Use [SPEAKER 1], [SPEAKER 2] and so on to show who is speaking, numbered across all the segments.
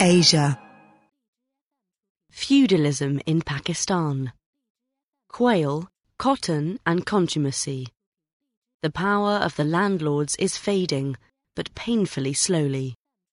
[SPEAKER 1] Asia.
[SPEAKER 2] Feudalism in Pakistan. Quail, cotton and contumacy. The power of the landlords is fading, but painfully slowly.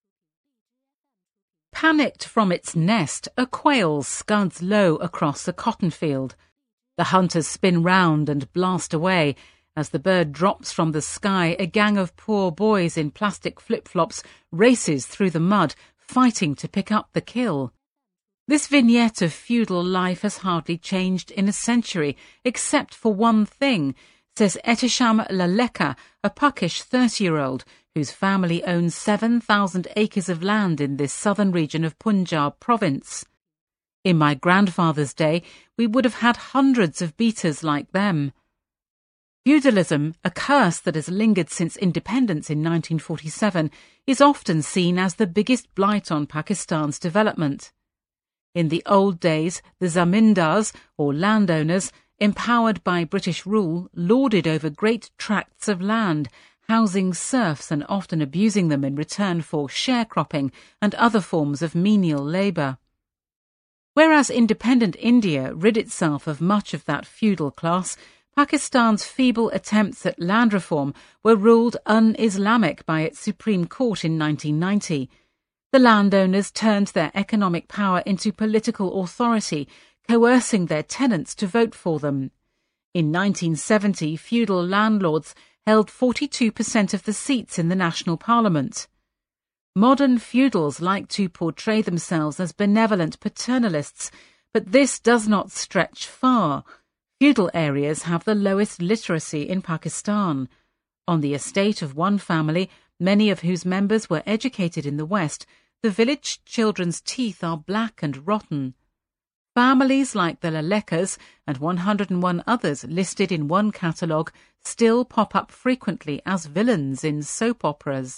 [SPEAKER 3] Panicked from its nest, a quail scuds low across a cotton field. The hunters spin round and blast away. As the bird drops from the sky, a gang of poor boys in plastic flip-flops races through the mud, fighting to pick up the kill. This vignette of feudal life has hardly changed in a century, except for one thing, says Ehtisham Laleka, a puckish 30-year-old whose family owns 7,000 acres of land in this southern region of Punjab province. In my grandfather's day, we would have had hundreds of beaters like them. Feudalism, a curse that has lingered since independence in 1947, is often seen as the biggest blight on Pakistan's development. In the old days, the zamindars, or landowners, empowered by British rule, lorded over great tracts of land, housing serfs and often abusing them in return for sharecropping and other forms of menial labour. Whereas independent India rid itself of much of that feudal class, Pakistan's feeble attempts at land reform were ruled un-Islamic by its Supreme Court in 1990. The landowners turned their economic power into political authority, coercing their tenants to vote for them. In 1970, feudal landlords held 42% of the seats in the national parliament. Modern feudals like to portray themselves as benevolent paternalists, but this does not stretch far. Feudal areas have the lowest literacy in Pakistan. On the estate of one family, many of whose members were educated in the West, the village children's teeth are black and rotten. Families like the Lalekas and 101 others listed in one catalogue still pop up frequently as villains in soap operas.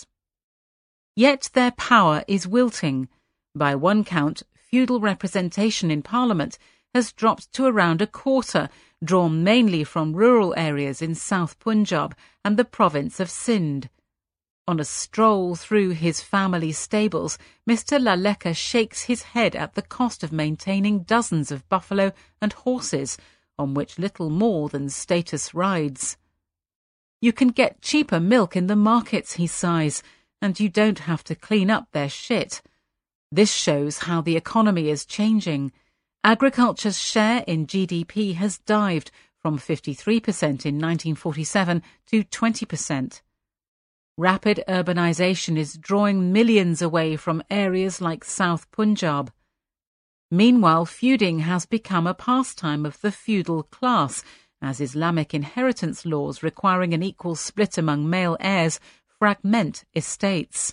[SPEAKER 3] Yet their power is wilting. By one count, feudal representation in Parliament has dropped to around a quarter, drawn mainly from rural areas in South Punjab and the province of Sindh. On a stroll through his family stables, Mr. Laleka shakes his head at the cost of maintaining dozens of buffalo and horses, on which little more than status rides. You can get cheaper milk in the markets, he sighs, and you don't have to clean up their shit. This shows how the economy is changing. Agriculture's share in GDP has dived from 53% in 1947 to 20%. Rapid urbanisation is drawing millions away from areas like South Punjab. Meanwhile, feuding has become a pastime of the feudal class, as Islamic inheritance laws requiring an equal split among male heirs fragment estates.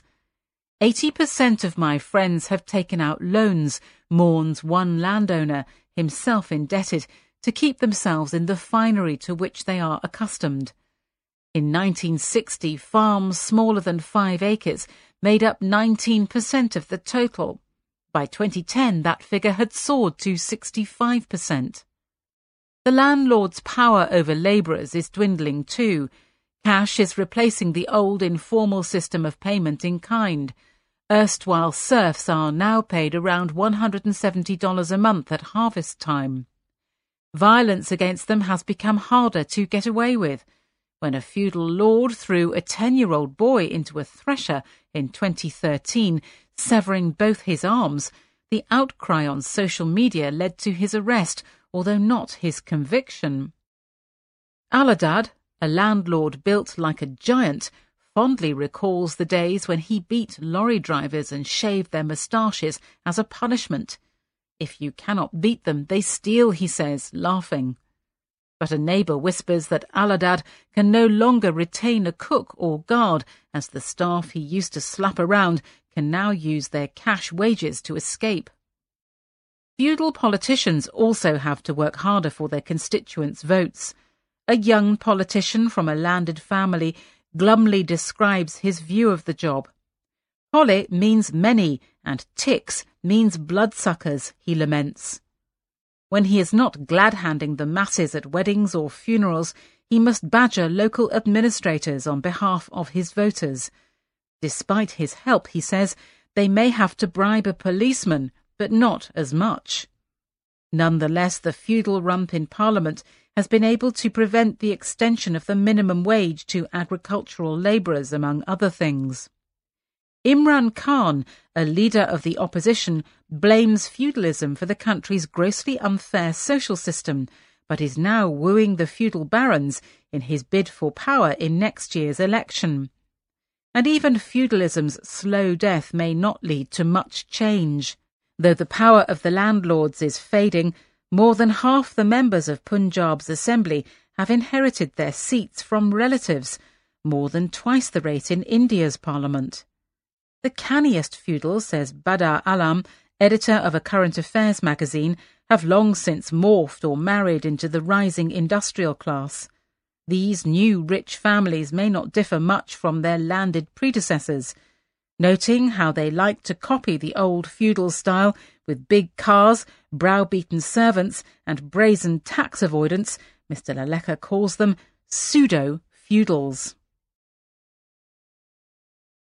[SPEAKER 3] 80% of my friends have taken out loans, mourns one landowner, himself indebted, to keep themselves in the finery to which they are accustomed. In 1960, farms smaller than 5 acres made up 19% of the total. By 2010, that figure had soared to 65%. The landlord's power over labourers is dwindling too. Cash is replacing the old informal system of payment in kind. Erstwhile serfs are now paid around $170 a month at harvest time. Violence against them has become harder to get away with. When a feudal lord threw a 10-year-old boy into a thresher in 2013, severing both his arms, the outcry on social media led to his arrest, although not his conviction. Aladad, a landlord built like a giant, fondly recalls the days when he beat lorry drivers and shaved their moustaches as a punishment. If you cannot beat them, they steal, he says, laughing. But a neighbour whispers that Aladad can no longer retain a cook or guard, as the staff he used to slap around can now use their cash wages to escape. Feudal politicians also have to work harder for their constituents' votes. A young politician from a landed family glumly describes his view of the job. Pole means many, and ticks means bloodsuckers, he laments. When he is not glad-handing the masses at weddings or funerals, he must badger local administrators on behalf of his voters. Despite his help, he says, they may have to bribe a policeman, but not as much. Nonetheless, the feudal rump in Parliament has been able to prevent the extension of the minimum wage to agricultural labourers, among other things. Imran Khan, a leader of the opposition, blames feudalism for the country's grossly unfair social system, but is now wooing the feudal barons in his bid for power in next year's election. And even feudalism's slow death may not lead to much change. Though the power of the landlords is fading, more than half the members of Punjab's assembly have inherited their seats from relatives, more than twice the rate in India's parliament. The canniest feudals, says Badar Alam, editor of a current affairs magazine, have long since morphed or married into the rising industrial class. These new rich families may not differ much from their landed predecessors. Noting how they like to copy the old feudal style with big cars, browbeaten servants and brazen tax avoidance, Mr. Laleka calls them pseudo-feudals.